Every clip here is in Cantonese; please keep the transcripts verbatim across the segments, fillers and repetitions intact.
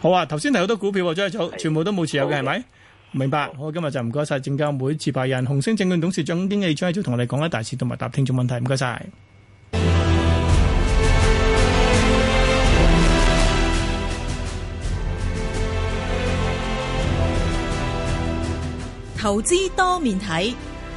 好啊，頭先提好多股票喎，張益祖全部都冇持有嘅係咪？ 的明白。好，今日就唔該晒證監會持牌人紅星證券董事總經理張益祖同我哋講一大市同埋答聽眾問題，唔該晒。 投資多面睇。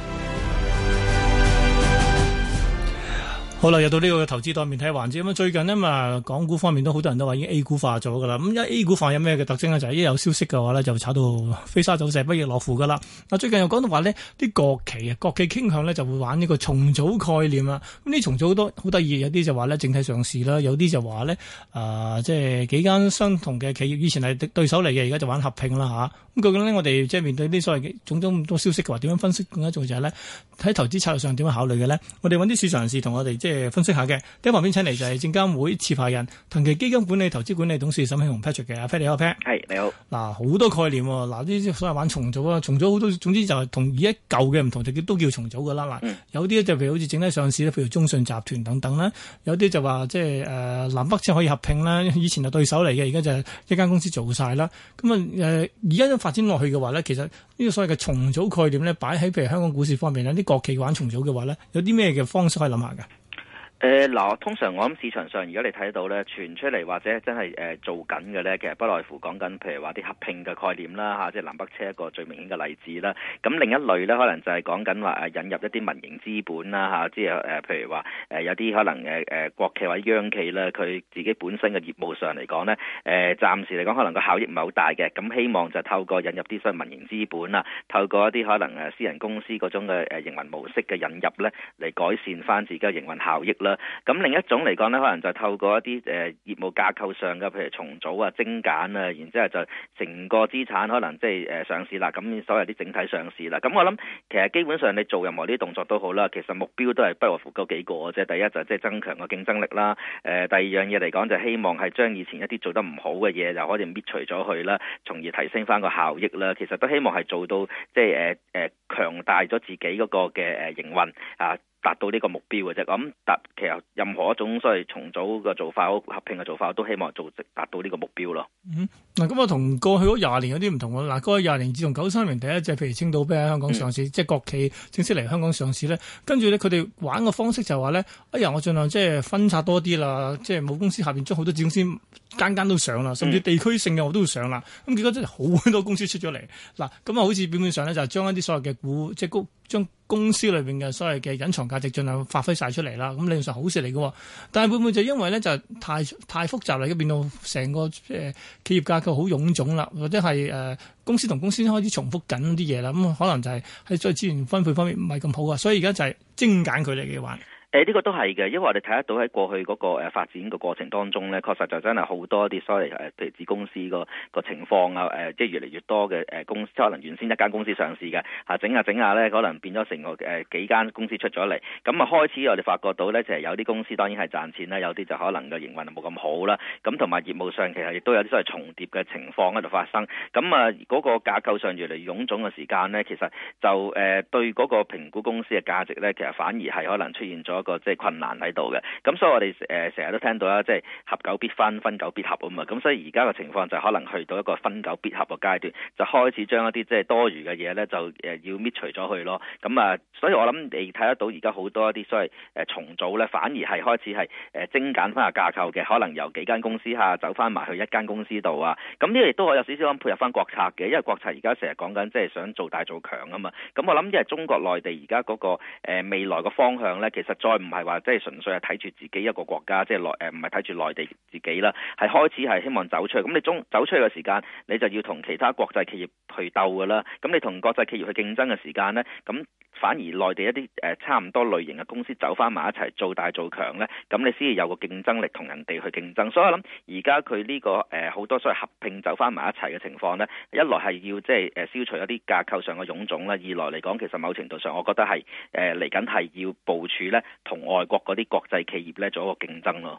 好啦，又到呢個投資多面睇環節咁啊！最近呢嘛，港股方面都好多人都話已經 A 股化咗噶啦。咁一 A 股化有咩嘅特徵呢？就係一有消息嘅話呢，就炒到飛沙走石、不亦樂乎噶啦。嗱，最近又講到話呢啲國企啊，國企傾向呢就會玩呢個重組概念啊。咁呢重組好多好得意，有啲就話呢整體上市啦，有啲就話呢啊，即係幾間相同嘅企業以前係對手嚟嘅，而家就玩合併啦吓。咁究竟呢，我哋即係面對啲所謂嘅種種咁多消息嘅話，點樣分析？更加重要就係呢，喺投資策略上點樣考慮嘅呢？我哋揾啲市場人士同我哋即係分析下嘅。第一旁邊請嚟就係證監會持牌人騰祺基金管理投資管理董事沈慶洪 Patrick 嘅。阿 Pat 你好 Pat。 係你好。 嗱，好多概念喎。嗱，呢啲所謂玩重組啊，重組好多，總之就係同而家舊嘅唔同，就都叫重組噶啦。嗱、嗯，有啲就譬如好似整體上市咧，譬如中信集團等等啦，有啲就話即係誒南北車可以合併啦。以前係對手嚟嘅，而家就係一間公司做晒啦。咁啊誒，而家都發展落去嘅話咧，其實呢個所謂嘅重組概念咧，擺喺譬如香港股市方面咧，啲國企玩重組嘅話咧，有啲咩嘅方式可以諗下㗎？ 誒嗱、呃，通常我諗市場上，如果你睇到咧傳出嚟或者真係誒、呃、做緊嘅咧，其實不外乎講緊，譬如話啲合併嘅概念啦嚇、啊，即係南北車一個最明顯嘅例子啦。咁另一類咧，可能就係講緊話誒引入一啲民營資本啦嚇、啊，即係誒、呃、譬如話誒、呃、有啲可能誒誒、呃、國企或者央企咧，佢自己本身嘅業務上嚟講咧，誒、呃、暫時嚟講可能個效益唔係好大嘅，咁希望就透過引入啲所謂民營資本啊，透過一啲可能誒私人公司嗰種嘅誒營運模式嘅引入咧，嚟改善翻自己嘅營運效益啦。咁另一種嚟講咧，可能就透過一啲誒、呃、業務架構上嘅，譬如重組啊、精簡啊，然之後就成個資產可能即係誒上市啦。咁所謂啲整體上市啦。咁我諗其實基本上你做任何啲動作都好啦，其實目標都係不外乎嗰幾個嘅啫。第一就即係增強個競爭力啦。誒、呃，第二樣嘢嚟講就希望係將以前一啲做得唔好嘅嘢就可以搣除咗去啦，從而提升翻個效益啦。其實都希望係做到即係誒誒強大咗自己嗰個嘅誒營運啊。達到呢個目標嘅啫，咁達其實任何一種所謂重組嘅做法、合併嘅做法，我都希望做達到呢個目標咯。 嗯，嗱咁啊，同過去嗰廿年有啲唔同喎。嗱，過去廿年自從九三年第一隻譬如青島啤喺香港上市，嗯、即係國企正式嚟香港上市咧，跟住咧佢哋玩嘅方式就話咧，哎呀，我盡量即係分拆多啲啦，即係母公司下邊將好多子公司間間都上啦，甚至地區性嘅我都會上啦。咁、嗯、結果真係好多公司出咗嚟。嗱，咁啊，好似表面上咧就係將一啲所謂嘅股即係高將公司裏邊嘅所謂嘅隱藏價值盡量發揮晒出嚟啦，咁理論上好事嚟嘅。但係會唔會就因為咧就太太複雜啦，而家變到成個誒、呃、企業架構好臃腫啦，或者係誒、呃、公司同公司開始重複緊啲嘢啦，咁、嗯、可能就係喺再資源分配方面唔係咁好啊，所以而家就係精簡佢哋嘅玩。 誒呢個都係嘅，因為我哋睇得到喺過去嗰個誒發展嘅過程當中咧，確實就真係好多啲所謂誒譬如子公司個個情況啊，誒即係越嚟越多嘅誒公司，可能原先一間公司上市嘅嚇，整下整下咧，可能變咗成個誒幾間公司出咗嚟，咁啊開始我哋發覺到咧，就係有啲公司當然係賺錢啦，有啲就可能個營運冇咁好啦，咁同埋業務上其實亦都有啲所謂重疊嘅情況喺度發生，咁啊嗰個架構上越嚟越臃腫嘅時間咧，其實就誒對嗰個評估公司嘅價值咧，其實反而係可能出現咗個即係困難喺度嘅，咁所以我哋誒成日都聽到啦，即係合久必分，分久必合啊嘛，咁所以而家嘅情況就可能去到一個分久必合嘅階段，就開始將一啲即係多餘嘅嘢咧，就誒要搣除咗去咯。咁啊，所以我諗你睇得到而家好多一啲所謂誒重組咧，反而係開始係誒精簡翻個架構嘅，可能由幾間公司下走翻埋去一間公司度啊。咁呢個亦都可以有少少咁配合翻國策嘅，因為國策而家成日講緊即係想做大做強啊嘛。咁我諗因為中國內地而家嗰個誒未來嘅方向咧，其實再唔係話即係純粹係睇住自己一個國家，即係內誒唔係睇住內地自己啦，係開始係希望走出去。咁你中走出去嘅時間，你就要同其他國際企業去鬥㗎啦。咁你同國際企業去競爭嘅時間咧，咁反而內地一啲誒差唔多類型嘅公司走翻埋一齊做大做強咧，咁你先至有個競爭力同人哋去競爭。所以我諗而家佢呢個誒好多所謂合併走翻埋一齊嘅情況咧，一來係要即係誒消除一啲架構上嘅臃腫啦，二來嚟講其實某程度上我覺得係誒嚟緊係要部署咧同外國嗰啲國際企業咧做一個競爭咯。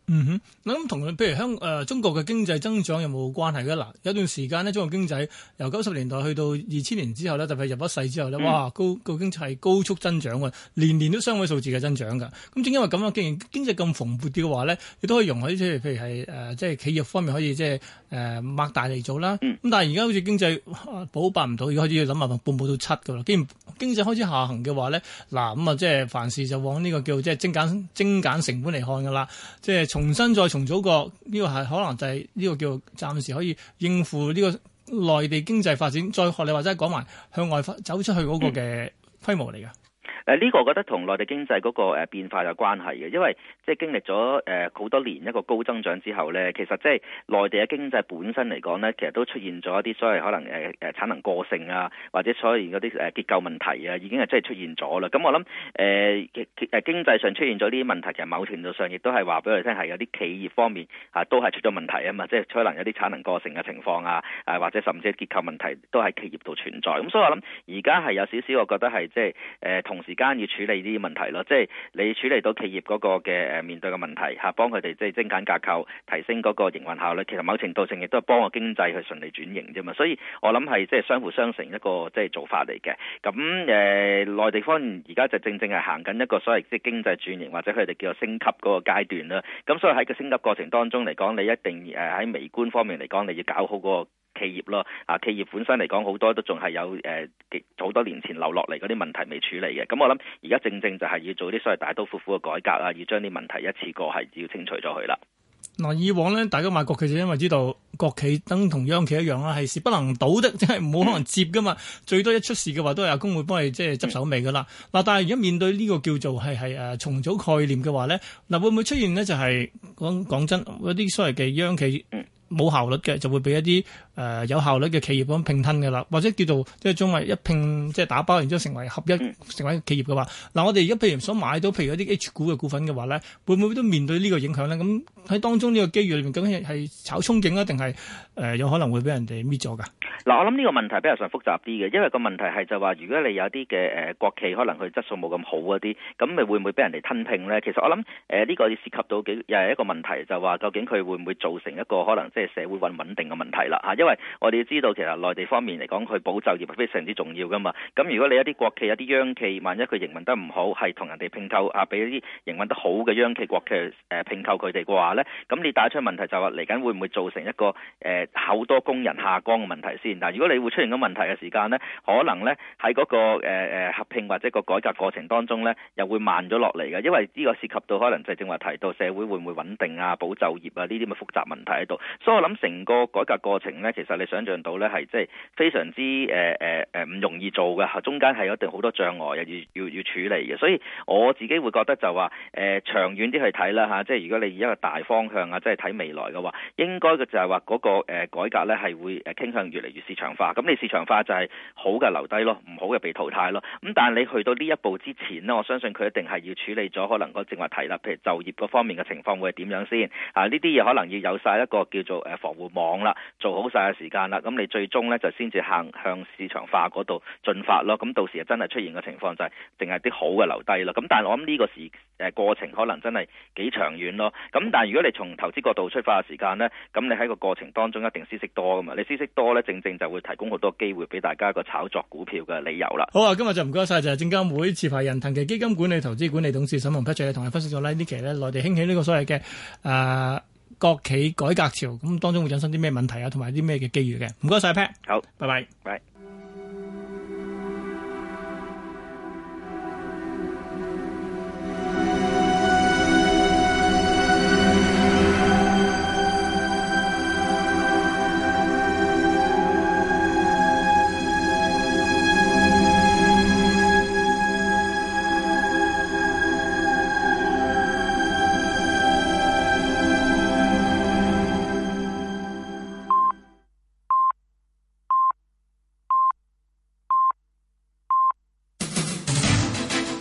嗯哼，咁同譬如香誒、呃、中國嘅經濟增長有冇關係嘅？嗱，有段時間呢，中國經濟由九十年代去到二千年之後呢，特別入咗世之後呢，嗯、哇，高個經濟係高速增長嘅，年年都雙位數字嘅增長㗎。咁正因為咁樣，既然經濟咁蓬勃嘅話呢，亦都可以容許即係譬如係誒、呃、即係企業方面可以即係誒擘大嚟做啦。咁、嗯、但係而家好似經濟保八唔到，而家開始要諗下半步到七㗎啦。既然經濟開始下行嘅話呢，嗱咁啊即係凡事就往呢個叫即係精簡精簡成本嚟看㗎啦，即係。重新再重組過呢個係可能就係呢個叫暫時可以應付呢個內地經濟發展，再學你或者講埋向外走出去嗰個嘅規模嚟㗎。 誒呢個我覺得同內地經濟嗰個誒變化有關係嘅，因為即係經歷咗誒好多年一個高增長之後咧，其實即係內地嘅經濟本身嚟講咧，其實都出現咗一啲所謂可能誒誒產能過剩啊，或者所謂嗰啲誒結構問題啊，已經係真係出現咗啦。咁我諗誒誒經濟上出現咗呢啲問題，其實某程度上亦都係話俾我哋聽係有啲企業方面啊都係出咗問題啊嘛，即係可能有啲產能過剩嘅情況啊，誒或者甚至結構問題都喺企業度存在。咁所以我諗而家係有少少，我覺得係即係誒同時間要處理呢啲問題咯，即係你處理到企業嗰個嘅誒面對嘅問題嚇，幫佢哋即係精簡架構，提升嗰個營運效率。其實某程度上亦都係幫個經濟去順利轉型啫嘛。所以我諗係即係相輔相成一個即係做法嚟嘅。咁誒、呃、內地方面而家就正正係行緊一個所謂即係經濟轉型或者佢哋叫做升級嗰個階段啦。咁所以喺個升級過程當中嚟講，你一定誒喺微觀方面嚟講，你要搞好嗰個企業咯，啊企業本身嚟講好多都仲係有誒好、呃、多年前留落嚟嗰啲問題未處理嘅，咁我諗而家正正就係要做啲所謂大刀闊斧嘅改革啊，要將啲問題一次過係要清除咗佢啦。 嗱，以往咧，大家買國企就因為知道國企等同央企一樣啦，係事不能倒的，即係冇可能接噶嘛。最多一出事嘅話，都係阿公會幫你即係執手尾噶啦。嗱、嗯，但係而家面對呢個叫做係係誒重組概念嘅話咧，嗱會唔會出現呢？就係講講真，嗰啲所謂嘅央企冇效率嘅，就會俾一啲誒、呃、有效率嘅企業咁併吞嘅啦，或者叫做即係將為一併即係打包，然之後成為合一、嗯、成為企業嘅話，嗱我哋而家譬如想買到譬如一啲 H 股嘅股份嘅話咧，會唔會都面對呢個影響咧？咁喺當中呢個機遇裏面，究竟係炒憧憬啊，定係誒有可能會俾人哋搣咗㗎？嗱， 我諗呢個問題比較上複雜啲嘅，因為個問題係就話，如果你有啲嘅誒國企可能佢質素冇咁好嗰啲，咁咪會唔會俾人哋吞併咧？其實我諗誒呢個涉及到幾又係一個問題，就話究竟佢會唔會造成一個可能即係社會穩穩定嘅問題啦嚇？因為我哋要知道其實內地方面嚟講，佢保就業係非常之重要噶嘛。咁如果你一啲國企、有啲央企，萬一佢營運得唔好，係同人哋併購啊，俾一啲營運得好嘅央企、國企誒併購佢哋嘅話咧，咁你帶出問題就話嚟緊會唔會造成一個誒好、呃、多工人下崗嘅問題先？嗱，如果你會出現咗問題嘅時間咧，可能咧喺嗰個誒誒、呃、合併或者個改革過程當中咧，又會慢咗落嚟嘅，因為呢個涉及到可能就係正話提到社會會唔會穩定啊、保就業啊呢啲咁嘅複雜問題喺度，所以我諗成個改革過程咧，其實你想象到咧係即係非常之誒誒誒唔容易做嘅，中間係有一定好多障礙要要要處理嘅，所以我自己會覺得就話誒、呃、長遠啲去睇啦嚇，即係如果你以一個大方向啊，即係睇未來嘅話，應該嘅就係話嗰個誒改革咧係會誒傾向越嚟越市場化，咁你市場化就係好嘅留低咯，唔好嘅被淘汰咯。咁但係你去到呢一步之前呢，我相信佢一定係要處理咗可能個正話提啦，譬如就業嗰方面嘅情況會係點樣先啊？呢啲嘢可能要有晒一個叫做誒防護網啦，做好晒嘅時間啦，咁你最終咧就先至行向市場化嗰度進發咯。咁到時啊真係出現嘅情況就係淨係啲好嘅留低咯。咁但係我諗呢個時誒過程可能真係幾長遠咯。咁但係如果你從投資角度出發嘅時間呢，咁你喺個過程當中一定知識多噶嘛，你知識多咧，正正就會提供好多機會俾大家個炒作股票嘅理由啦。 好啊，今日就唔該晒，就係證監會持牌人騰祺基金管理投資管理董事沈鴻 Patrick 同你分析咗呢呢期咧內地興起呢個所謂嘅誒國企改革潮，咁當中會產生啲咩問題啊，同埋啲咩嘅機遇嘅。唔該晒 Pat， 好， 拜拜， 拜。